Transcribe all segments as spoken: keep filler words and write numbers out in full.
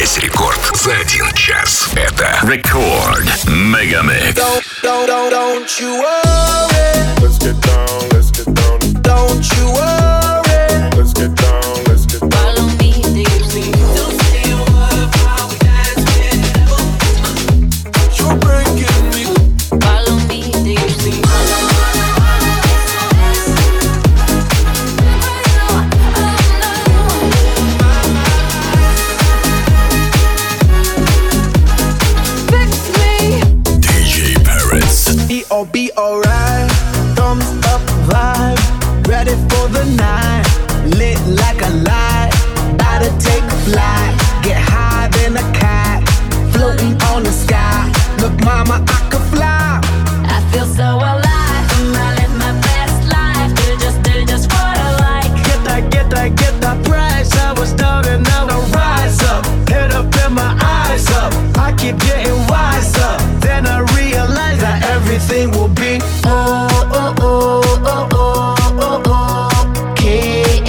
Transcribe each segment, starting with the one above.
Весь рекорд за один час. Это Рекорд Мегамикс. Don't, don't, don't, don't you worry. Let's get down, let's get down. Don't you worry. Let's get down, let's get down. Follow me, deeply. Don't say a word while we dance with the devil. You're breaking me. Follow me, deeply. B O B alright, thumbs up vibe, ready for the night, lit like a light, about to take flight, get higher than a cat, floating on the sky, look mama I could fly. I feel so alive, I live my best life, do just, do just what I like. Get that, get that, get that price, I was down and now I rise up, head up and my eyes up, I keep getting wiser, then I realize that everything will be oh, oh, oh, oh, oh, oh, okay,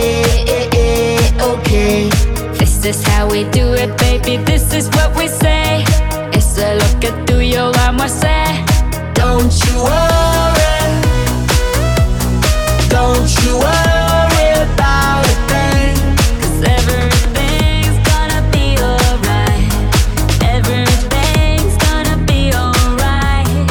okay. This is how we do it, baby, this is what we say. It's a lo que tú y yo vamos a hacer. Don't you worry, don't you worry about a thing, 'Cause everything's gonna be alright. Everything's gonna be alright.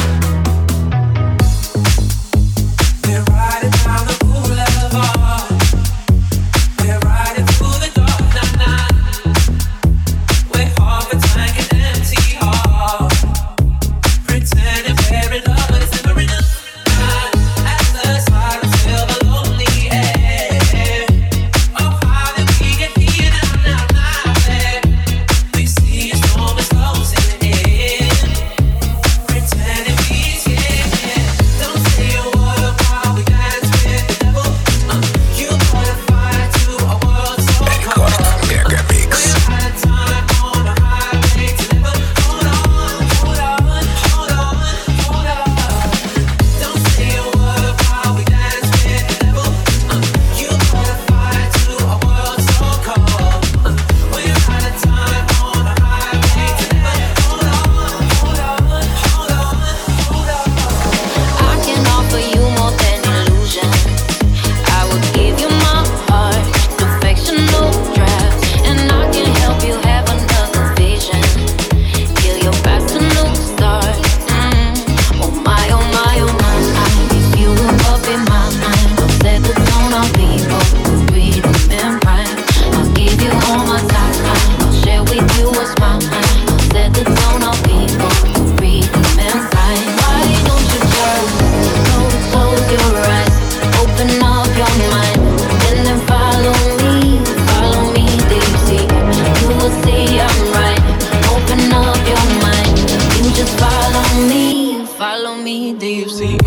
We're riding down the boulevard. We're riding through the dark night. We're half a tank and empty heart. Pretending we're in love, but it's never enough. As the silence fill the lonely air. Oh, how did we get here now, now, now, babe? We see a storm is closing in. Pretending we scared. Don't say a word while we dance with the devil. Uh, you put a fire to a world so cold. Рекорд Мегамикс. We're out of time on a highway to never. Hold on, hold on, hold on, hold on. Don't say a word while we dance with the devil. Uh, you put a fire to a world so cold. Uh, we're out of time on a highway to never. Hold on, hold on, hold on, hold on. I can offer you more than illusion. I will give you my heart, perfection, no draft, and I can help you have another vision. Kill your past, a new start. Mm. Oh my, oh my, oh my, if you were up in my mind, I'll set the tone. I'll be both read and rhyme. I'll give you all my time. I'll share with you what's mine. I'll set the tone. I'll be both read and rhyme. Why don't you just close, close your eyes, open up your mind, and then follow me, follow me, deep sea. You will see I'm right. Open up your mind, you just follow me, follow me, deep sea.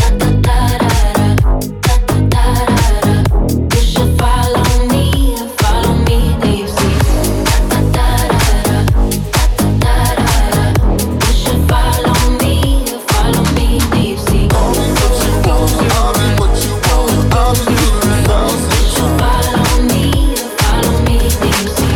You should follow me, follow me, deep sea. You should follow me, follow me, deep sea. You should follow me, follow me, deep sea.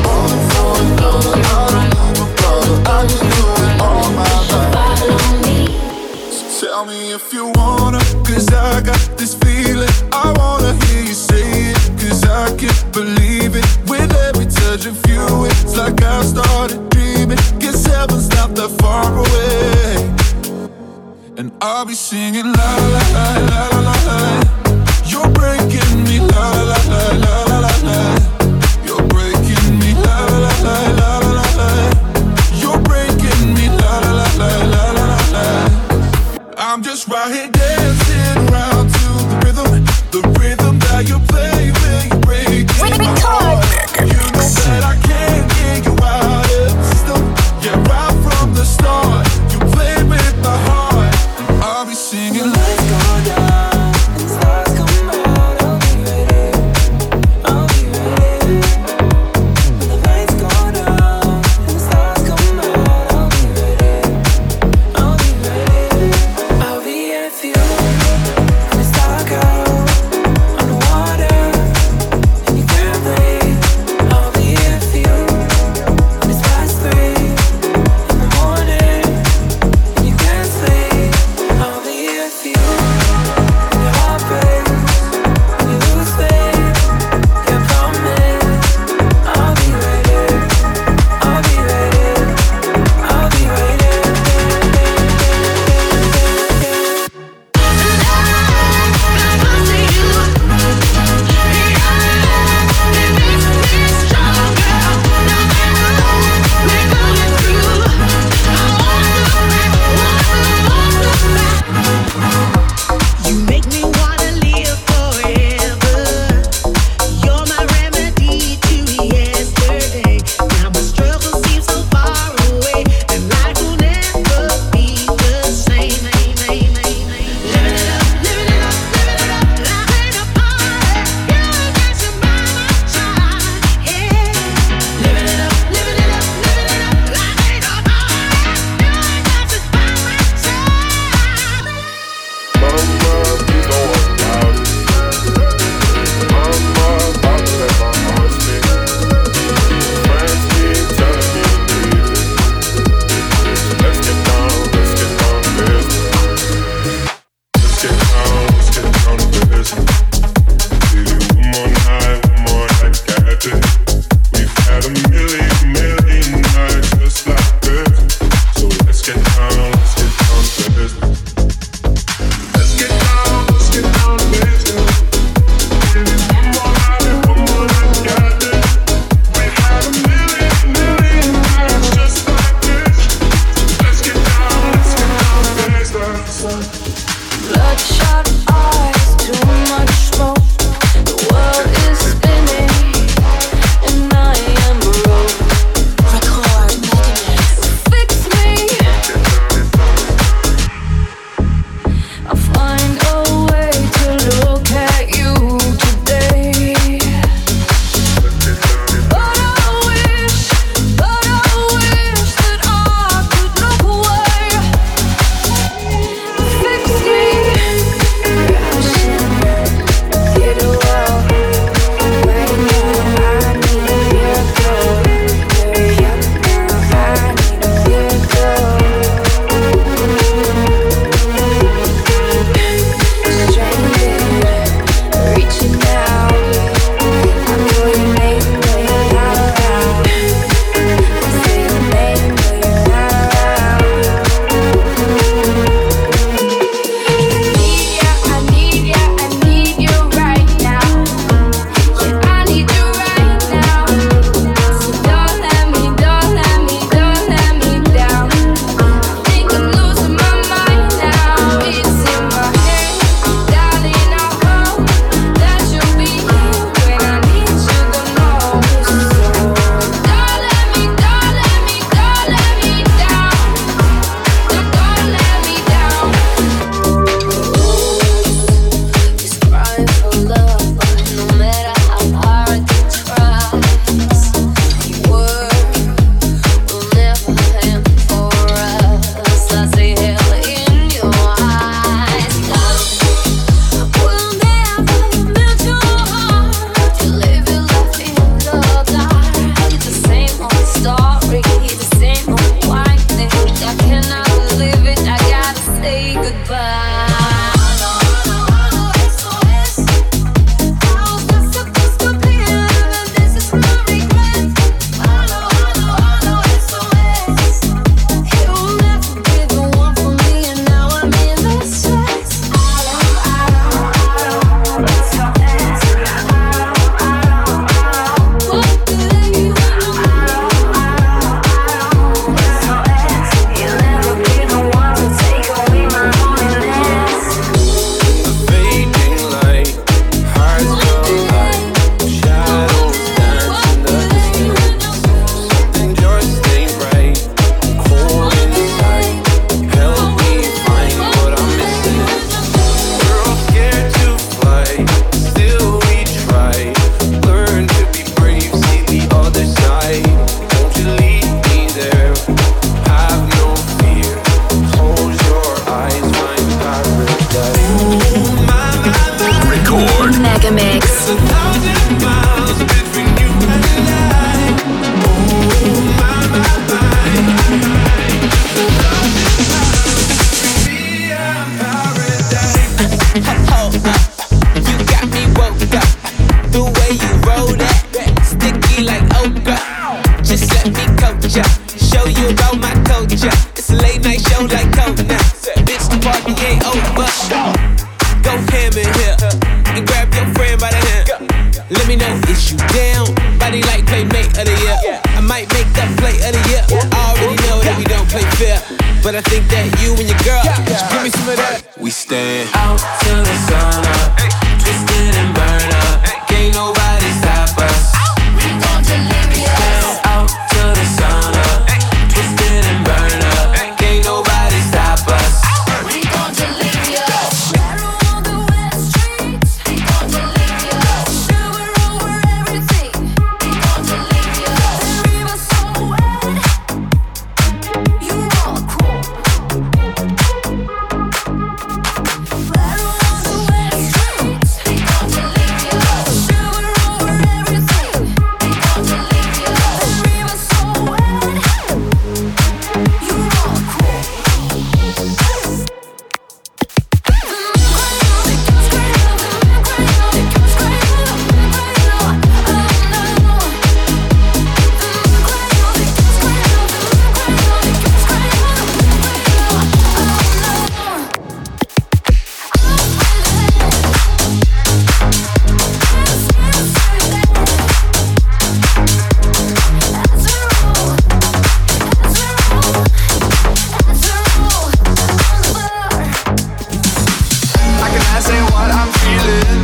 Follow me. Tell me if you wanna, cause I got this feeling. I wanna hear you say it, cause I can't believe it. With every touch of you, it's like I started dreaming. Guess heaven's not that far away. And I'll be singing la la la la la la la. You're breaking me la la la la la la la. You're breaking me la la la la la la la. You're breaking me la la la la la la la la. I'm just right here dancing around to the rhythm, the rhythm that you play when you break it. You know that I can't get you out of the system. Yeah, right from the start, you played with my heart. And I'll be singing. Lights go down and stars come out. I'll be ready. you down. Body like playmate of the year. I might make that play of the year. I already know that we don't play fair, but I think that you and your girl just give me some of that. We stand out till the sun up, twisted and burn up. Can't nobody stop us. We gon' deliver you. Stand out till the sun up, twisted and burn up. Can't nobody stop us. We gon' deliver you. Rattle on the west streets. We gon' deliver you. Silver over everything. We gon' deliver you. The river's so wet. You are cool. Rattle on the west streets. We gon' deliver you. Silver over everything. We gon' deliver you. The river's so wet. You are cool. I cannot say what I'm feeling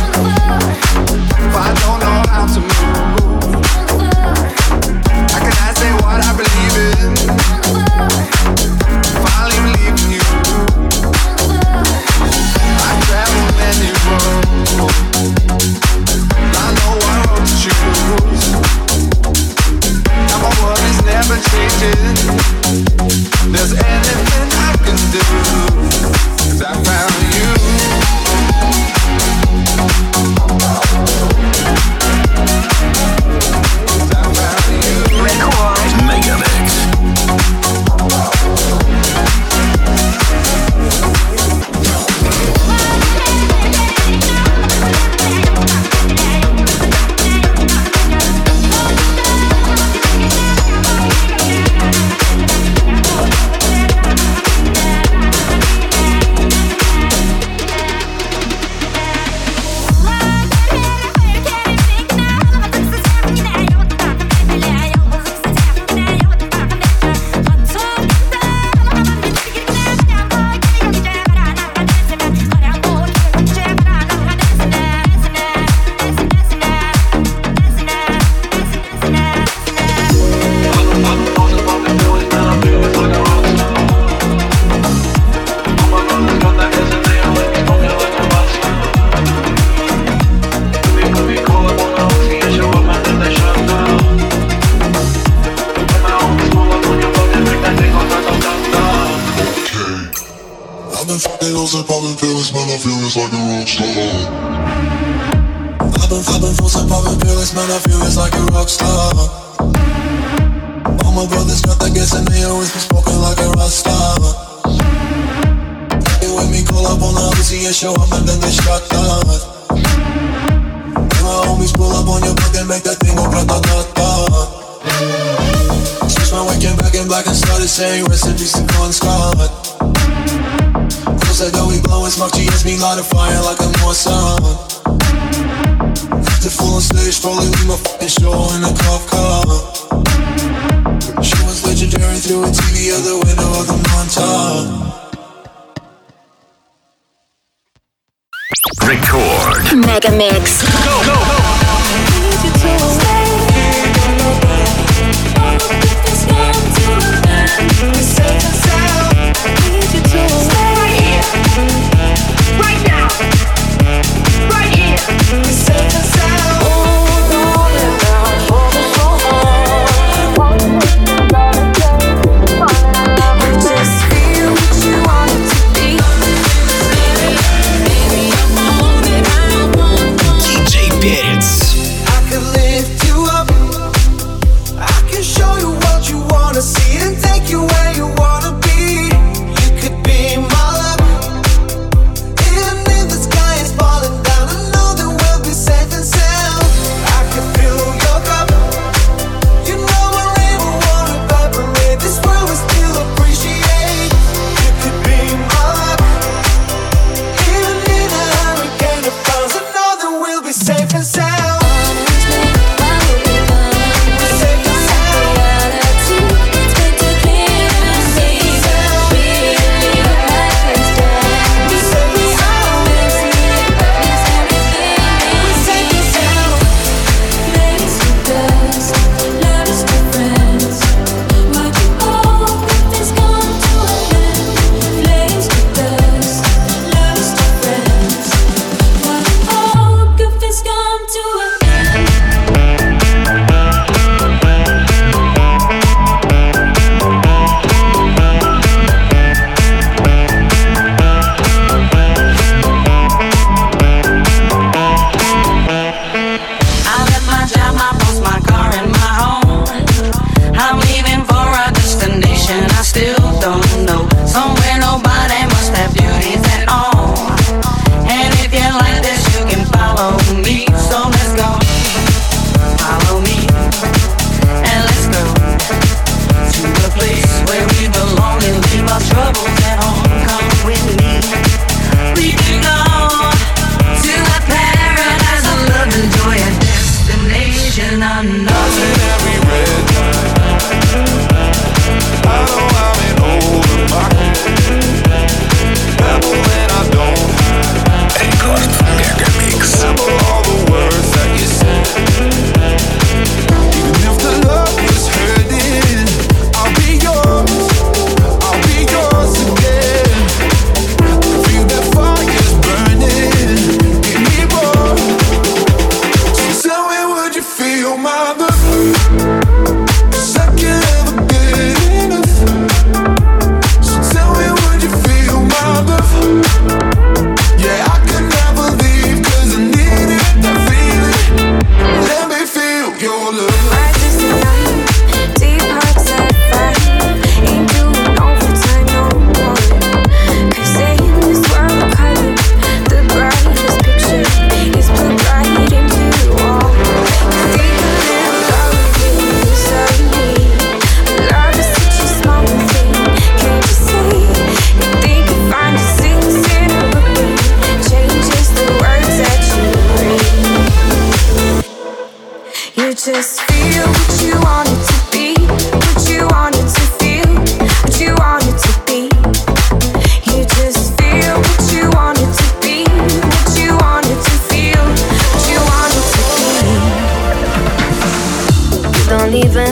if I don't know how to move. I cannot say what I believe in if I leave leaving you. I travel many roads, I know what road to choose. Now my world is never changing. There's anything I can do, 'cause I found you. Mega Mix. I've been fucking hoes and popping pills, man, I feel it's like a rock star. I've been popping pills and popping pills, man, I feel it's like a rock star. All my brothers got that gas and they always be smoking like a rock star. They with me, call up on the Uzi and show up and then they shot down. And my homies pull up on your block and make that thing go grata-ta-ta. Switch my weekend back in black and started saying recipes to Con Scott. Said that we blowin' smoke, G S me light a fire like a Mossad. The full on stage, probably leave my fucking show in a cop car. She was legendary through a T V out the window of the Montauk. Record. Mega Mix. Go, go, go. Right now, right here, safe and sound. Hold on and down for the soul. Just feel what you want it to be. Baby, I'm all that I want. ди джей Перец. I could lift you up. I can show you what you wanna see and take you where you wanna be. You could be my love. Even if the sky is falling down, I know that we'll be safe and sound. I can fill your cup. You know I never wanna evaporate. This world will still appreciate. You could be my love. Even in a hurricane of clouds, I know that we'll be safe and sound.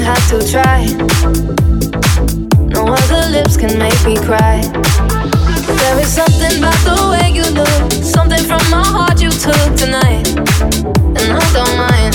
even have to try. No other lips can make me cry. There is something about the way you look, something from my heart you took tonight, and I don't mind.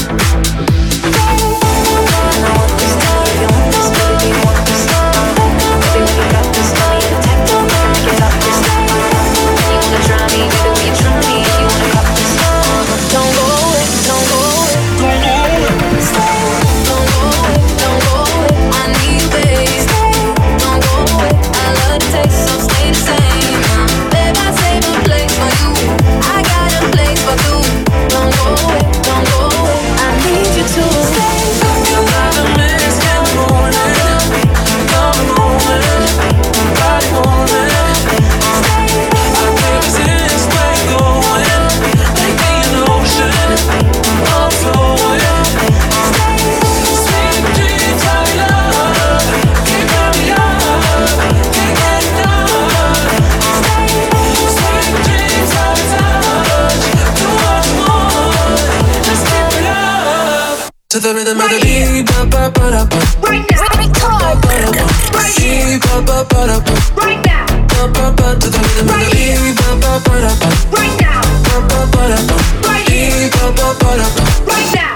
And I want this love, you want this baby, you want this love. Baby, when you got this love, you take the love, get up this love. And you wanna try me, baby, will you try me? If you wanna cut this love, don't go away, don't go away, don't go away. Stay, don't go away, don't go away. I need you, baby. Stay, don't go away. I love the taste, so stay the same. Babe, I save a place for you. I got a place for two. Don't go away, don't go away. I need you to stay. Your love and miss in the morning, come moving, body moving. I can't resist where you're going. Take me in the ocean, I'm flowing. Sweet dreams of love, keep me up, can't get enough. Sweet dreams of touch, do what you want, just keep it up. To the rhythm of the beat, ba ba ba da ba. Right now, right here, Ba ba ba da ba. right now, Ba ba ba to the rhythm of the beat, ba ba ba da ba. right now, Ba ba ba da ba. right here, Ba ba ba da ba. right now.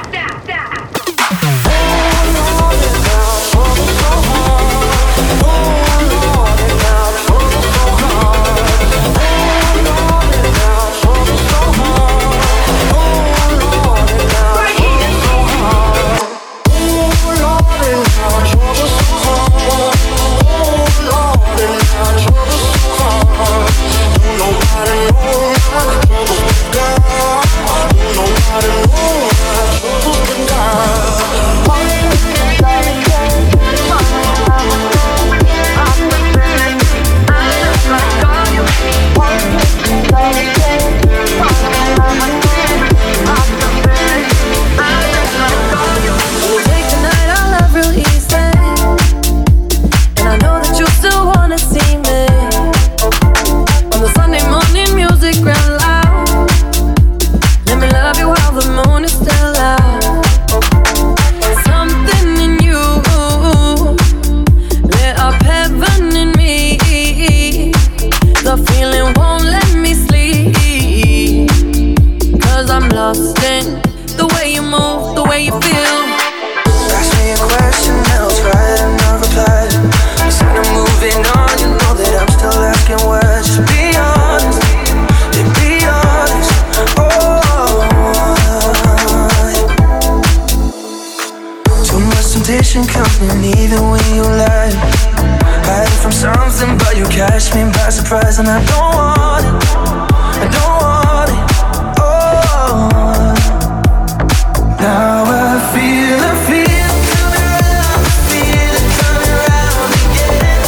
Coming even when you lie, hiding from something, but you catch me by surprise, and I don't want it, I don't want it. Oh, now I feel, I feel coming around, I feel it coming around again.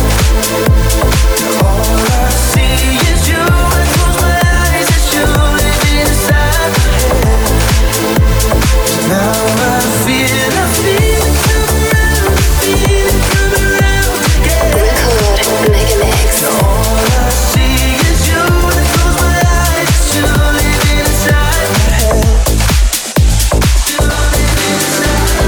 All I see is you, I close my eyes, it's you living inside my head. Now I feel, I feel it coming around, I feel it coming around again. Record Mega Mix. All I see is you, I close my eyes, it's you living inside my head. You living inside.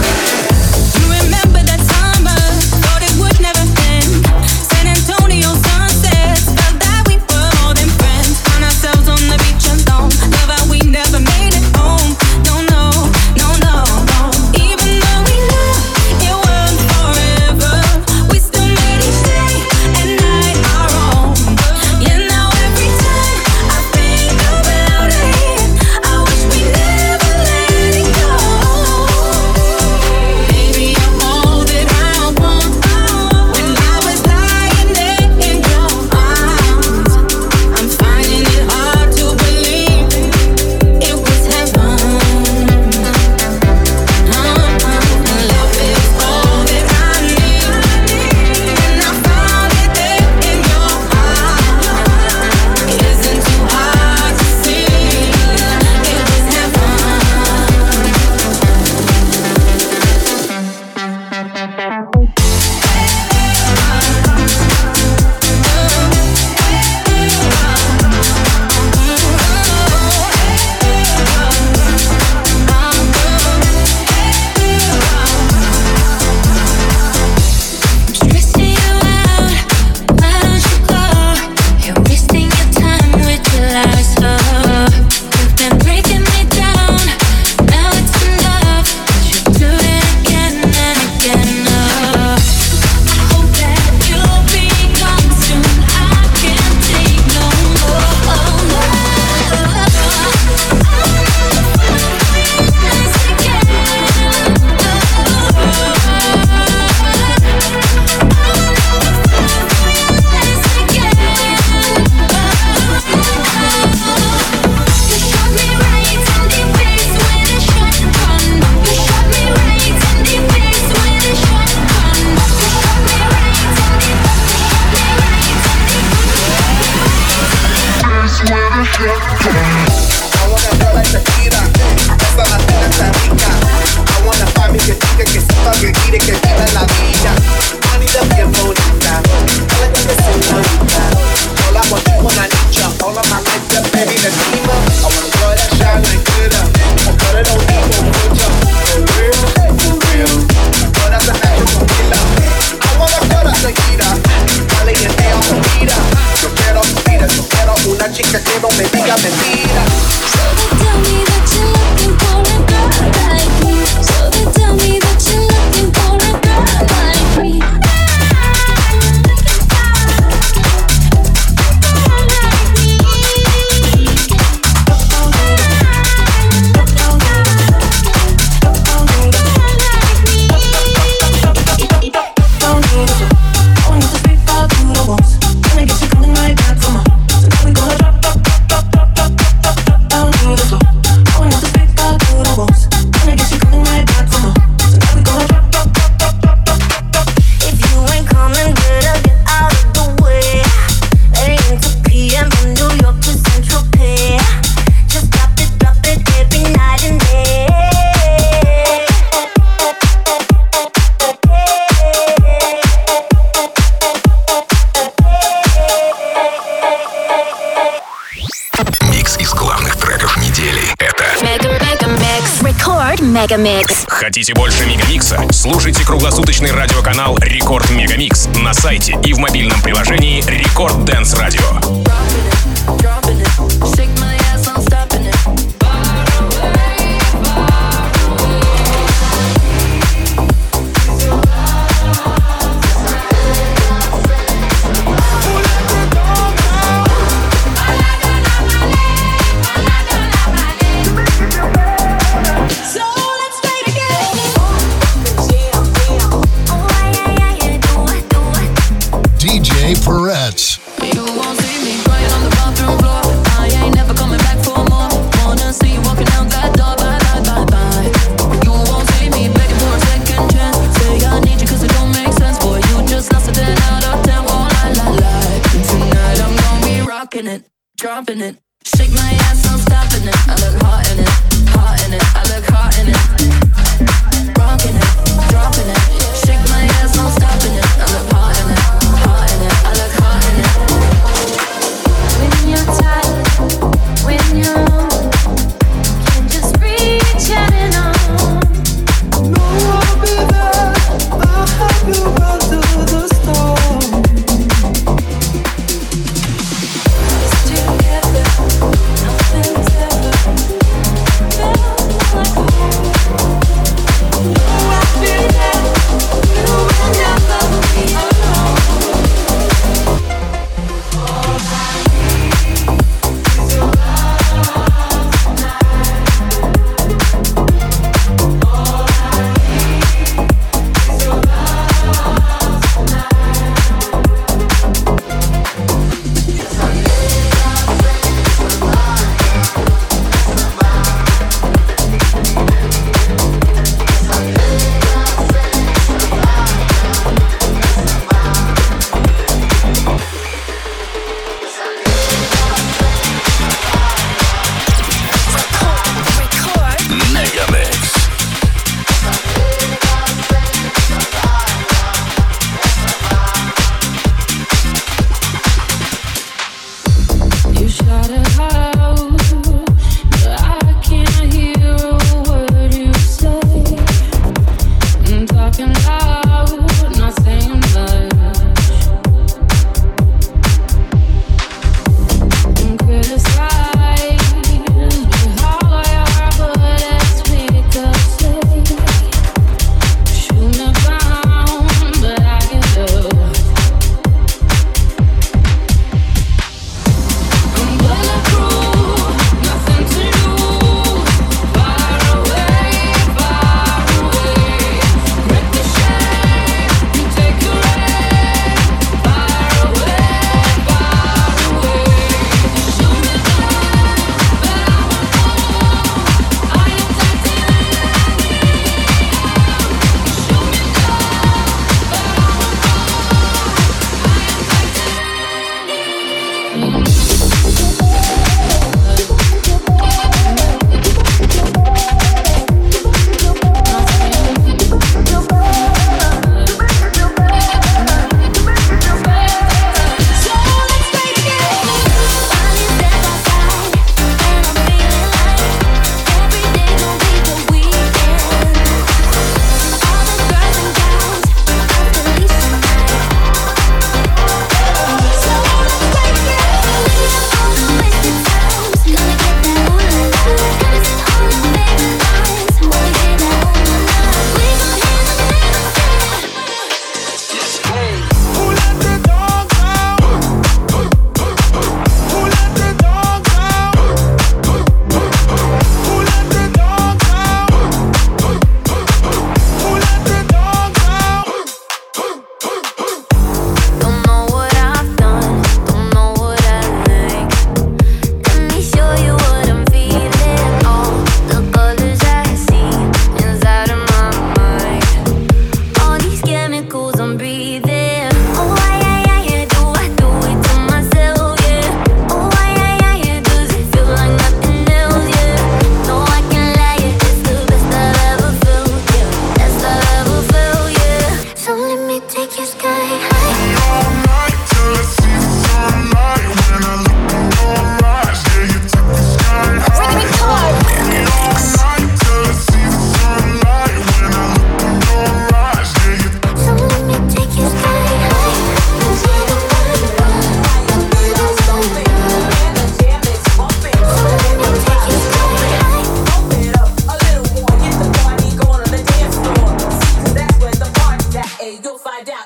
Мегамикс. Хотите больше Мегамикса? Слушайте круглосуточный радиоканал Рекорд Мегамикс на сайте и в мобильном приложении Рекорд Дэнс Радио. Peretz. You won't see me crying on the bathroom floor. I ain't never coming back for more. Wanna see you walking out that door. Bye, bye, bye, bye. You won't see me begging for a second chance. Say I need you cause it don't make sense. Boy, you just lost a ten out of ten. Oh, la, la, la. Tonight I'm gonna be rocking it, dropping it. Shake my ass, I'm stopping it. I look hot in it, hot in it. I look hot in it. Rocking it, dropping it. Shake my ass, I'm stopping it. I look hot in it. When you're tired, when you're alone, can just reach out and on. No, I'll be there. I'll help you run through the storm. Together, nothing's ever felt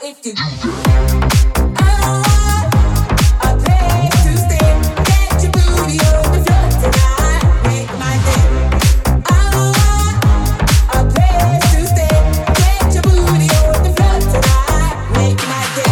if you do that. I want a place to stay. Get your booty on the floor tonight. Make my day. I want a place to stay. Get your booty on the floor tonight. Make my day.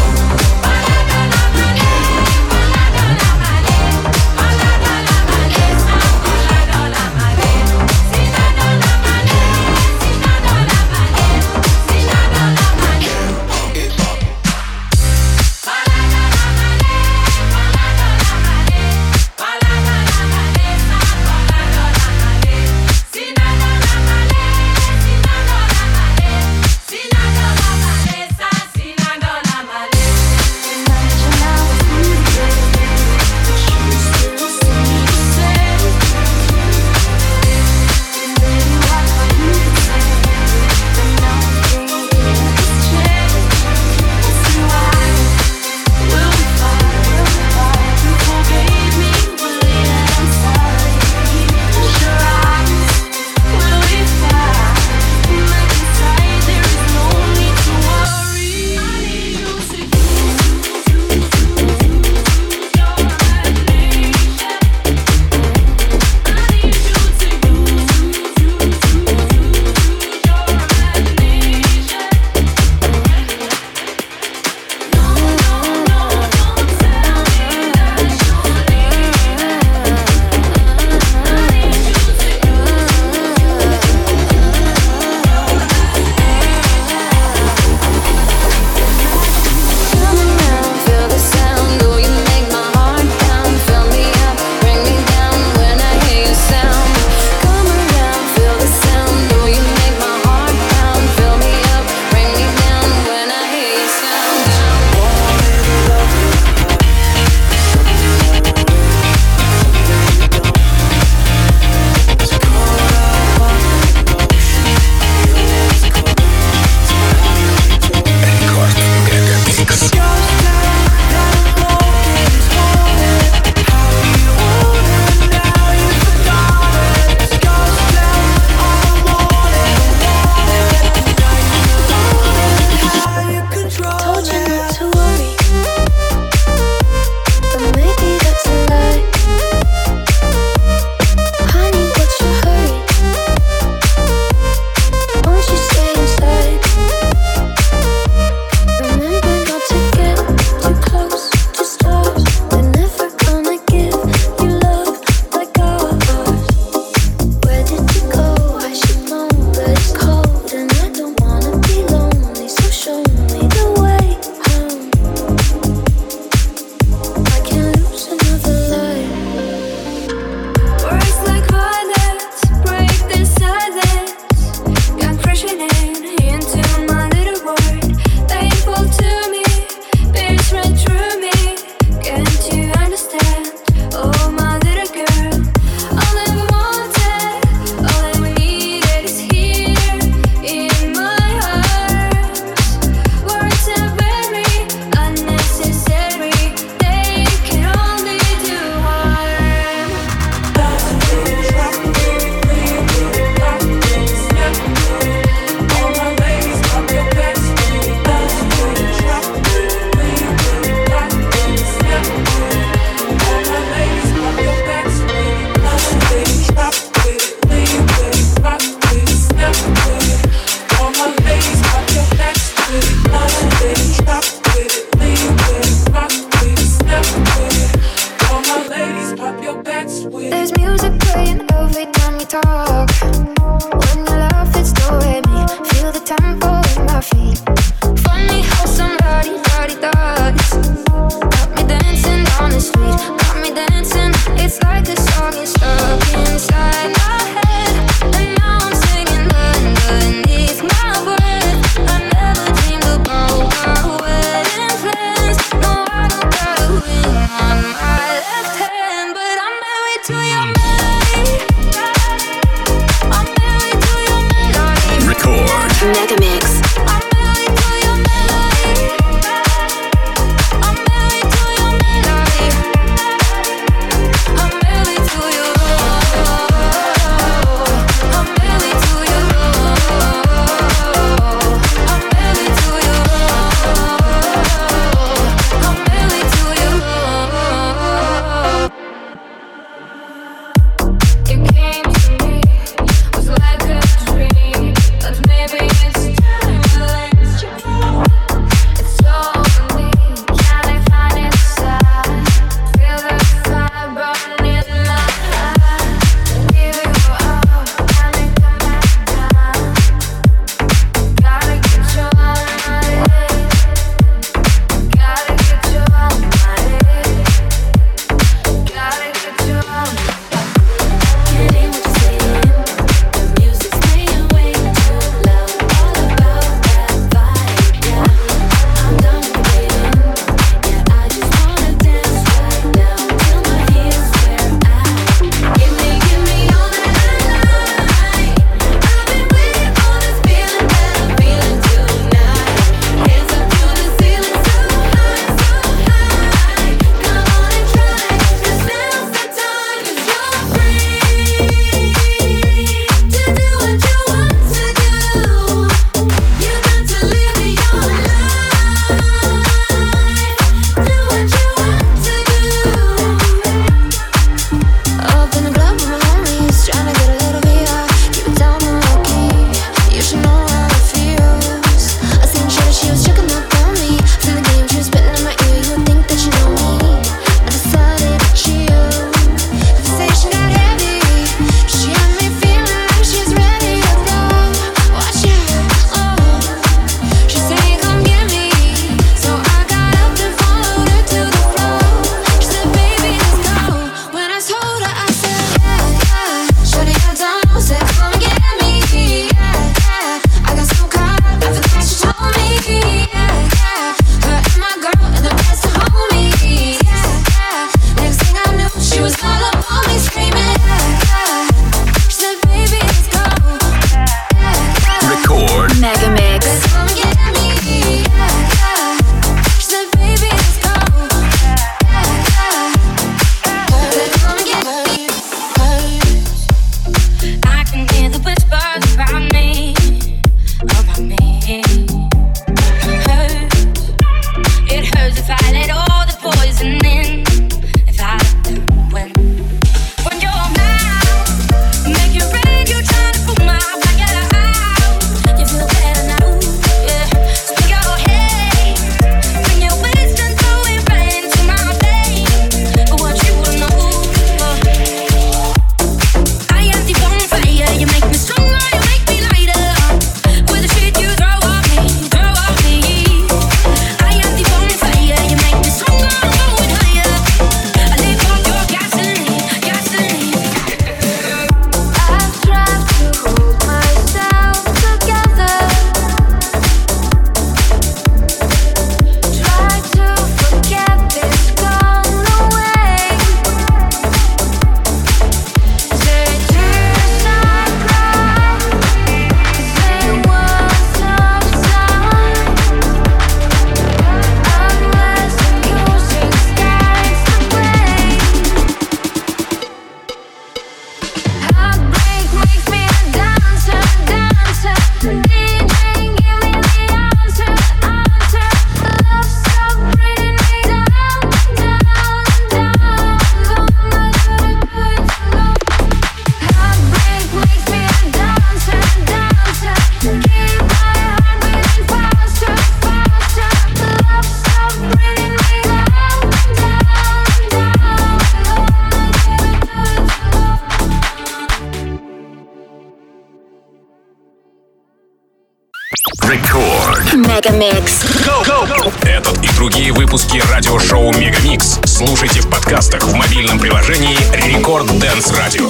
Мегамикс. Этот и другие выпуски радиошоу Мегамикс слушайте в подкастах в мобильном приложении Рекорд Dance Radio.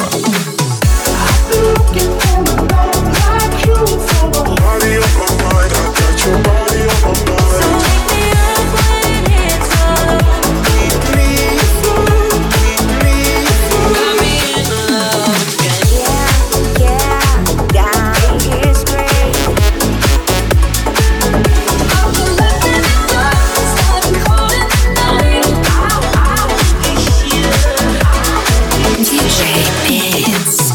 диджей Beats.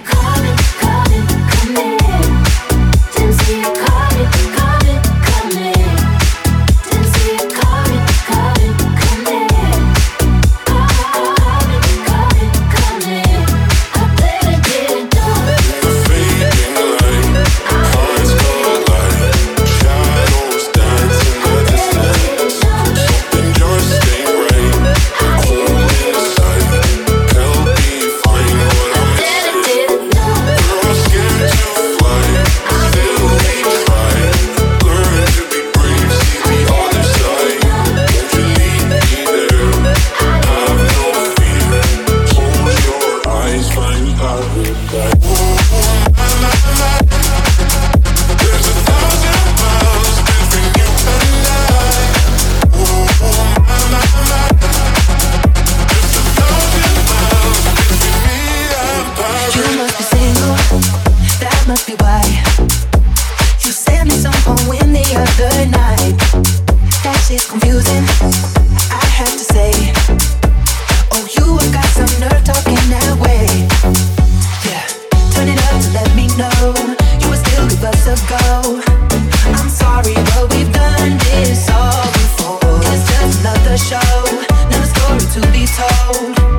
I'm sorry, but we've done this all before. It's just another show, another story to be told.